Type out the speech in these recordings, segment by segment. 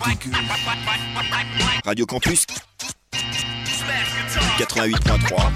Radio Campus 88.3.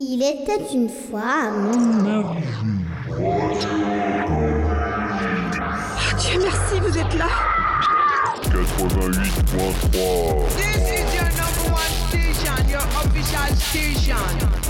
Il était une fois Dieu merci, vous êtes là. 88.3. This is your number one station, your official station.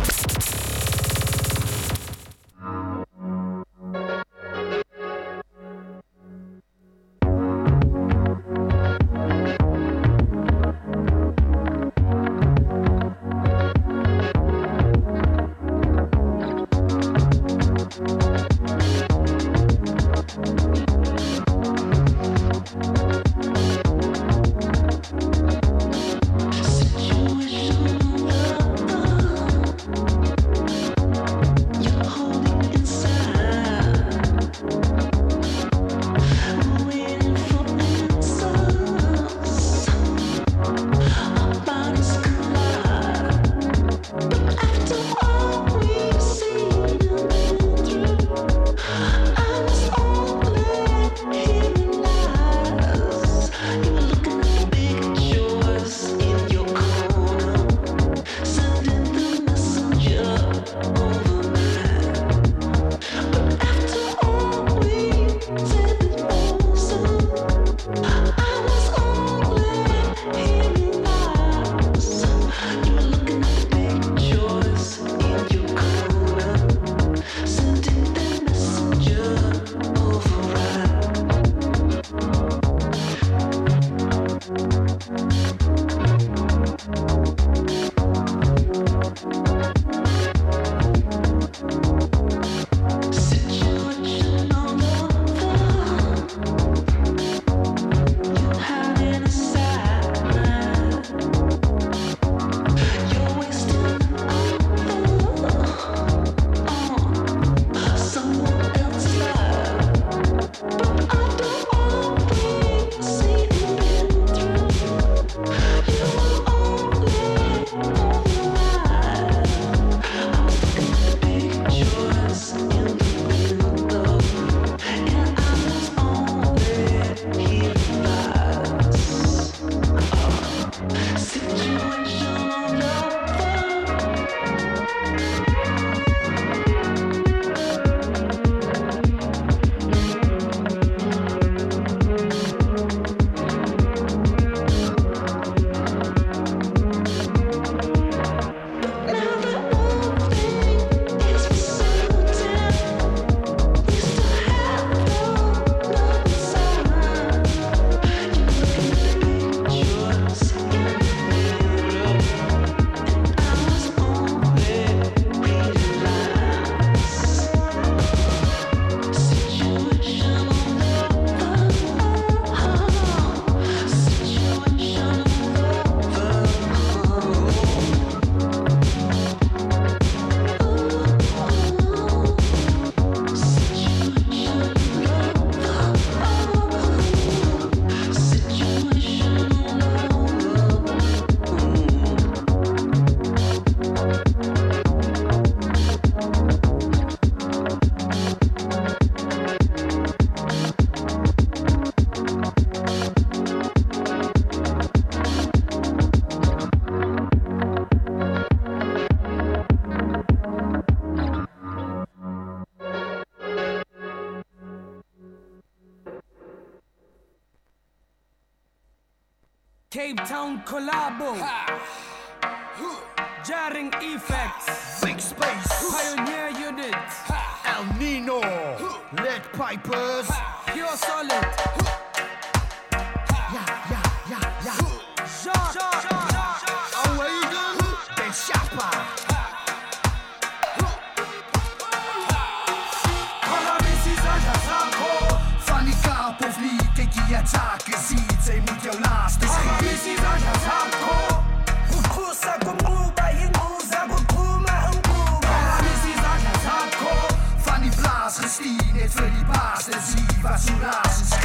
Cape Town Collabo, Jarring Effects, Big Space, Pioneer Unit, El Nino, Lead Pipers, Pure Solid, Awaken, Ben Chapa. Fanny Karpovnik, die Attacke sieht, sie mit your last is Fanny Blaas gestien, het vir die baas, en zie wat so raas en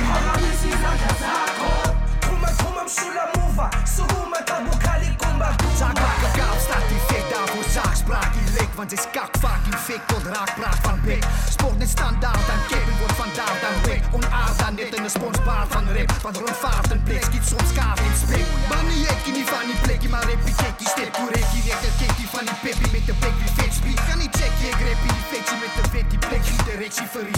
want is kak fucking fik tot raakpraat van pik. Sport net standaard aan kippen wordt vandaag dan wik. Onaard aan net in de sponsbaard van rip. Van rondvaart en blik schiet soms kaart in spik. Maar niet ik niet van die plekje, maar heb ik die stip. Hoe reek je recht het kikkie van die pippie met de blik wie fit.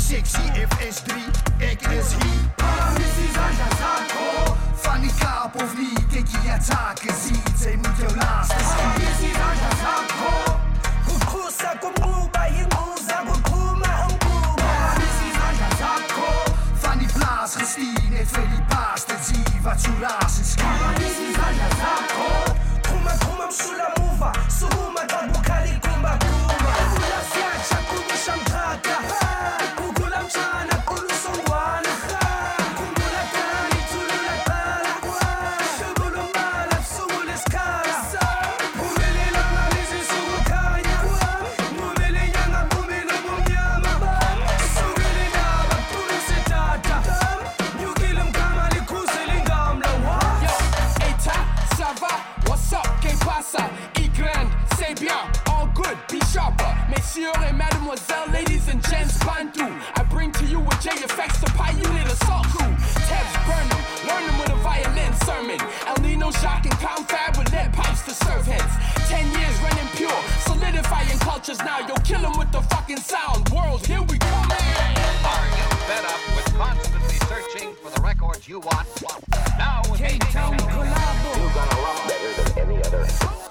Sexy FS3, ik is hier. Paramissie zanja zako. Van die kaap of niet, kijk je het zaken ziet. Zij moet jou laatste zien. Paramissie zanja zako. Kukusa kumuba hinguza kukuma umkuba. Paramissie zanja zako. Van die blaas gestien, het vir die baas te zien wat zo raas is. Paramissie zanja zako. Kuma kuma msula muva, suhuma tabukali kumba kumba. Kula siacha kumusha mkaka. Kukula mchana kulusongwana. Kumula kani tulula kala. Shugulu mala sugulu skala. Kumele langa lizi sugukanya. Kumele nyanga kumele mumyama. Sugulu naba tuluse tata. Nyukile mkama likuse lingamla. Yo, Eta, ça va? What's up? Que pasa? Y grand, c'est bien, all good, be sharper. Messieurs et mademoiselles, ladies and gents, bantu. I bring to you a JFX, the pie unit assault crew. Tabs burn them, learn them with a violin sermon. El Nino shock and confab with lead pipes to serve heads. 10 years running pure, solidifying cultures now. Yo, kill them with the fucking sound. World, here we come. Are you fed up with constantly searching for the records you want? Now with Cape Town Collabo. You're gonna rock better than any other.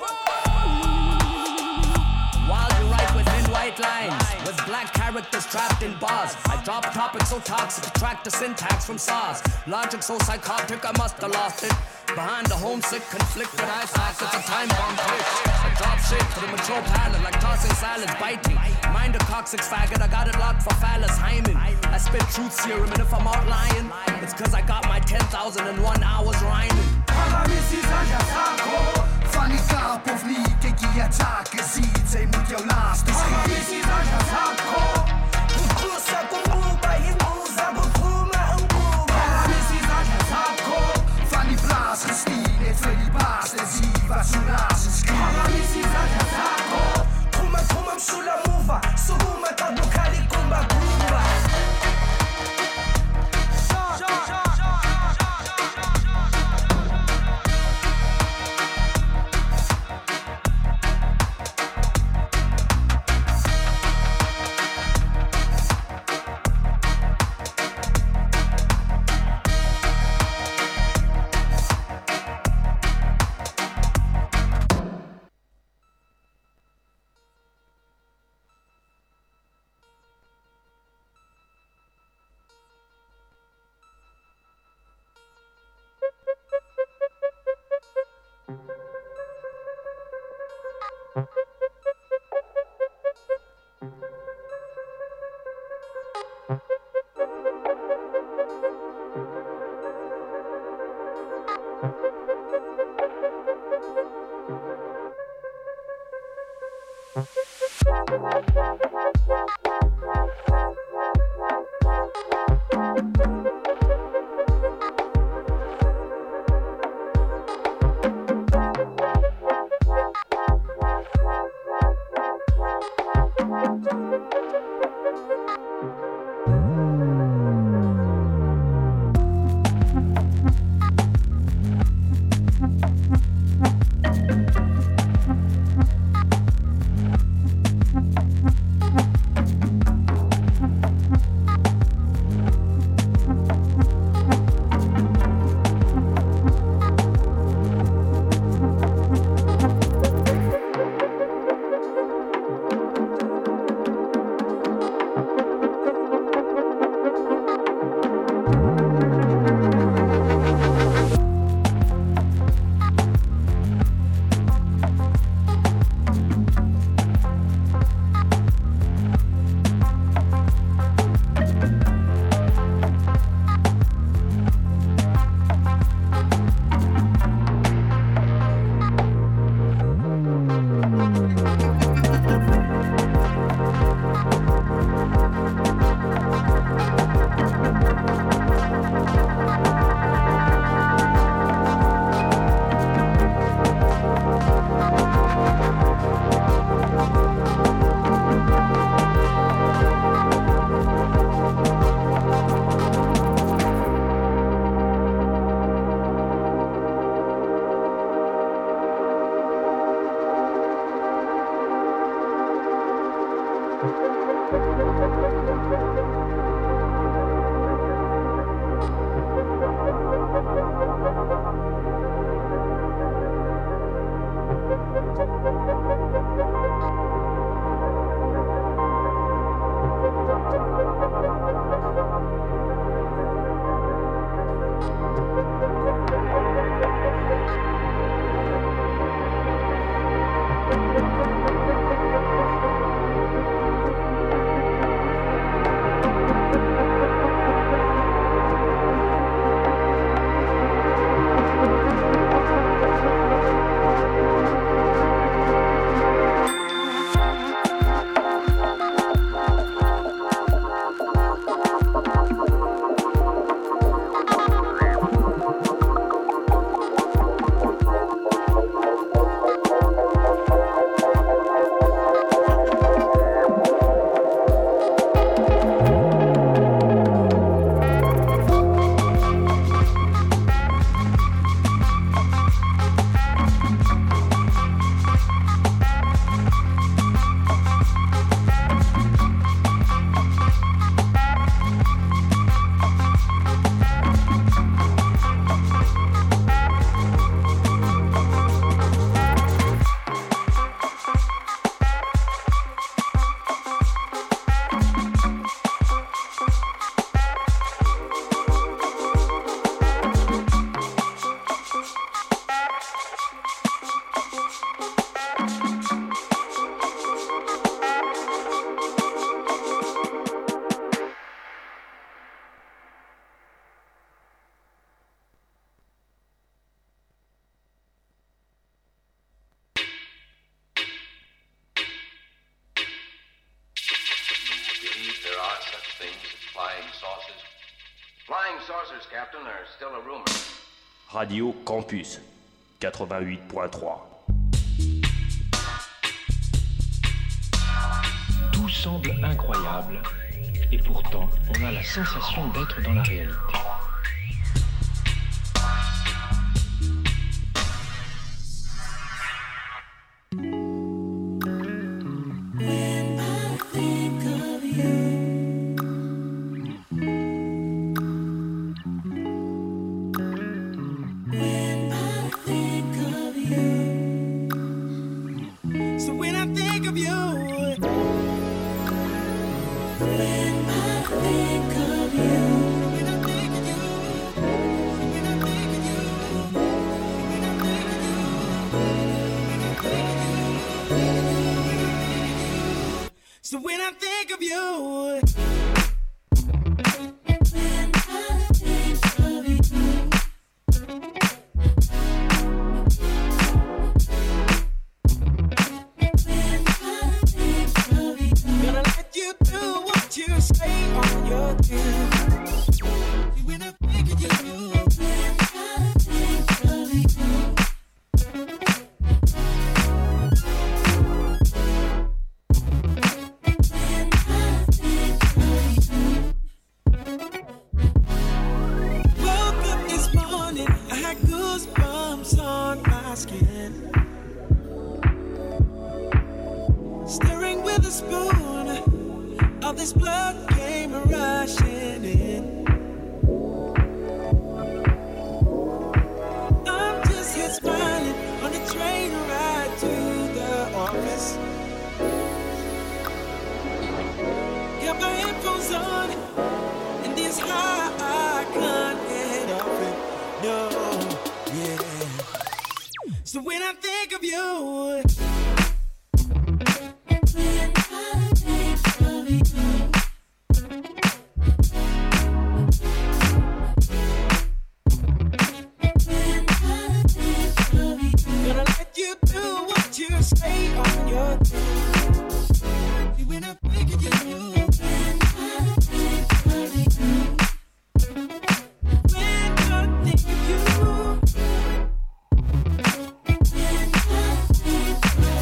While you write within white lines, with black characters trapped in bars, I drop topics so toxic, attract the syntax from SARS. Logic so psychotic, I must have lost it. Behind the homesick, conflicted eye sockets, a time bomb twitch. I drop shit to the mature palate, like tossing salads, biting. Mind a coccyx faggot, I got it locked for phallus hymen. I spit truth serum, and if I'm out lying, it's cause I got my 10,001 hours rhyming. Paramissie zanja zako. Van die kaap of niet, kijk je het zaken ziet. Zij moet jou laatste zien. Paramissie zanja zako. Kukusa kumuba hinguza kukuma umkuba. Paramissie zanja zako. Van die blaas gestien, het vir die baas te zien wat zo raas is. Paramissie zanja zako. Kuma kuma msula muva, suhuma tabukali kumba kumba. Radio Campus 88.3. Tout semble incroyable et pourtant on a la sensation d'être dans la réalité. So when I think of you, gonna let you do what you say on your day. When I think of you. When I think of you.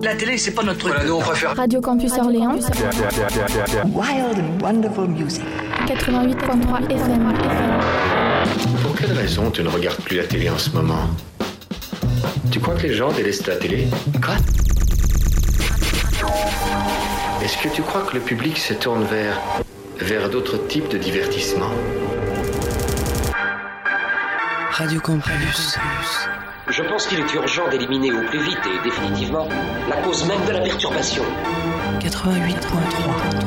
La télé, c'est pas notre truc. Voilà, nous on préfère. Radio Campus Orléans. Wild and wonderful music. 88.3 FM. Pour quelle raison tu ne regardes plus la télé en ce moment? Tu crois que les gens délaissent la télé? Quoi? Est-ce que tu crois que le public se tourne vers d'autres types de divertissements? Radio Campus. Je pense qu'il est urgent d'éliminer au plus vite et définitivement la cause même de la perturbation. 88.3.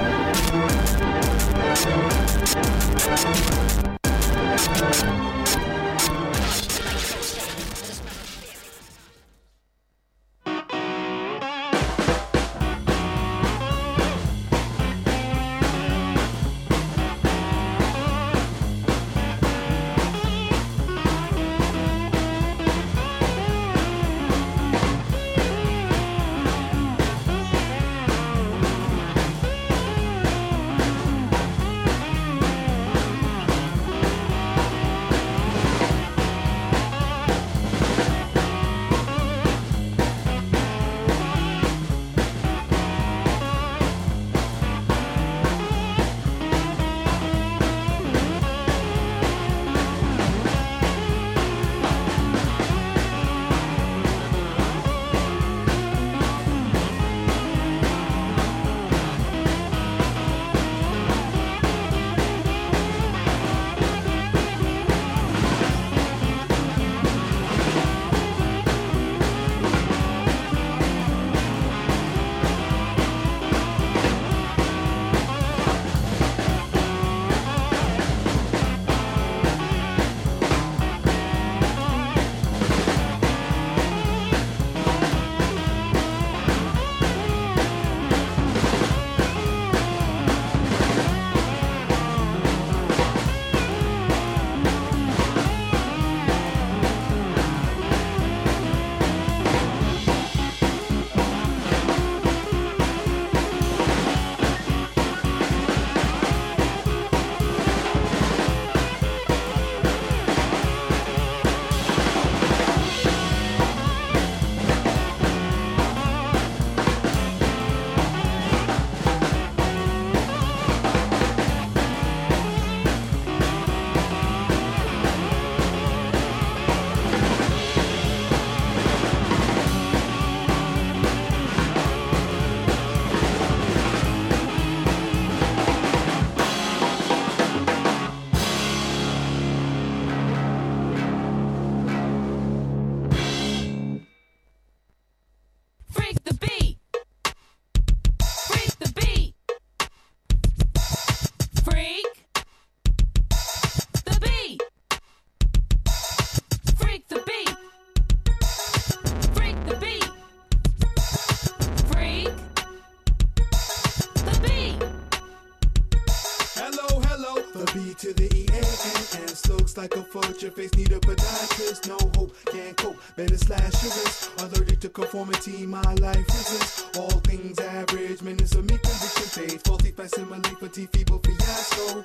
Like a fudge, your face need a podiatrist. No hope, can't cope, better slash your wrist. Allergic to conformity, my life resists. All things average, minutes of me conviction fades. Faulty facsimile, fatigue, feeble fiasco.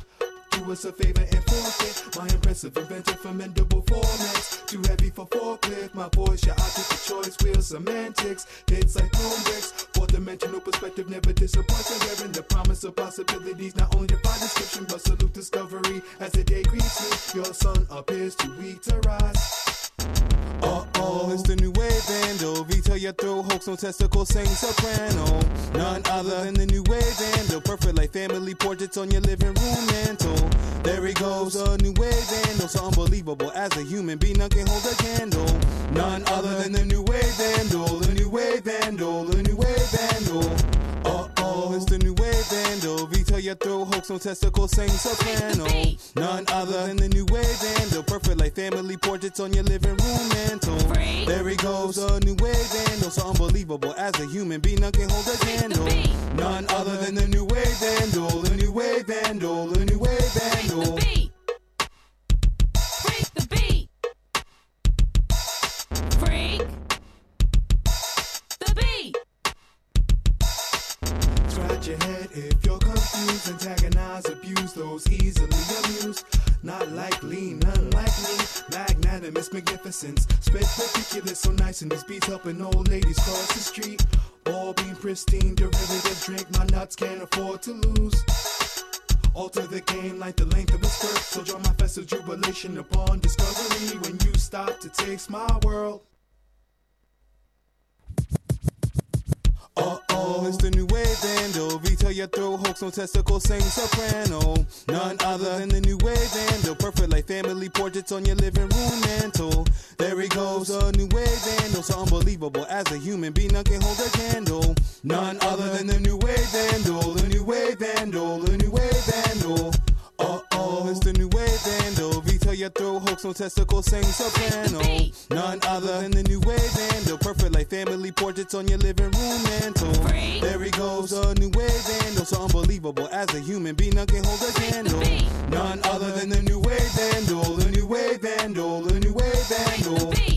Do us a favor and forfeit my impressive inventive formidable formats. Too heavy for forklift, my voice, your object of choice, wheel semantics. Hits like throne bricks, four-dimensional perspective never disappoints. And bearing the promise of possibilities, not only defy description, but salute discovery. As the day greets me, your sun appears too weak to rise. It's the new wave vandal. Retail your throat, hoax on testicle, sing soprano. None other than the new wave vandal. Perfect like family portraits on your living room mantle. There he goes, a new wave vandal. So unbelievable as a human being, none can hold a candle. None other than the new wave vandal. The new wave vandal. The new wave vandal. It's the new wave vandal. Retail your throat, hoax on testicle, sing soprano. None other than the new wave vandal. Perfect like family portraits on your living room mantle. There he goes, a new wave vandal. So unbelievable as a human being, none can hold a candle. None other than the new wave vandal. The new wave vandal. The new wave vandal. Freak the beat. Freak the beat. Scratch your head if you're confused. Antagonize, abuse those easily amused. Not likely, none like me. Magnetic that and Miss Magnificence. Spit ridiculous, so nice, and these beats helping old ladies cross the street. All being pristine, derivative drink, my nuts can't afford to lose. Alter the game like the length of a skirt, so join my festive jubilation upon discovery when you stop to taste my world. Uh-oh, it's the new wave vandal. Retail your throat, hoax, no testicle, sing soprano. None other than the new wave vandal. Perfect like family portraits on your living room mantle. There he goes, a new wave vandal. So unbelievable, as a human being, none can hold a candle. None other than the new wave vandal. The new wave vandal, the new wave vandal. Uh-oh, it's the new wave vandal. Retail your throat, hoax, no testicle, sing soprano. None other than the new wave vandal. Perfect like family portraits on your living room mantle. There he goes, a new wave vandal. So unbelievable, as a human being, none can hold a candle. None other than the new wave vandal. The new wave vandal, the new wave vandal.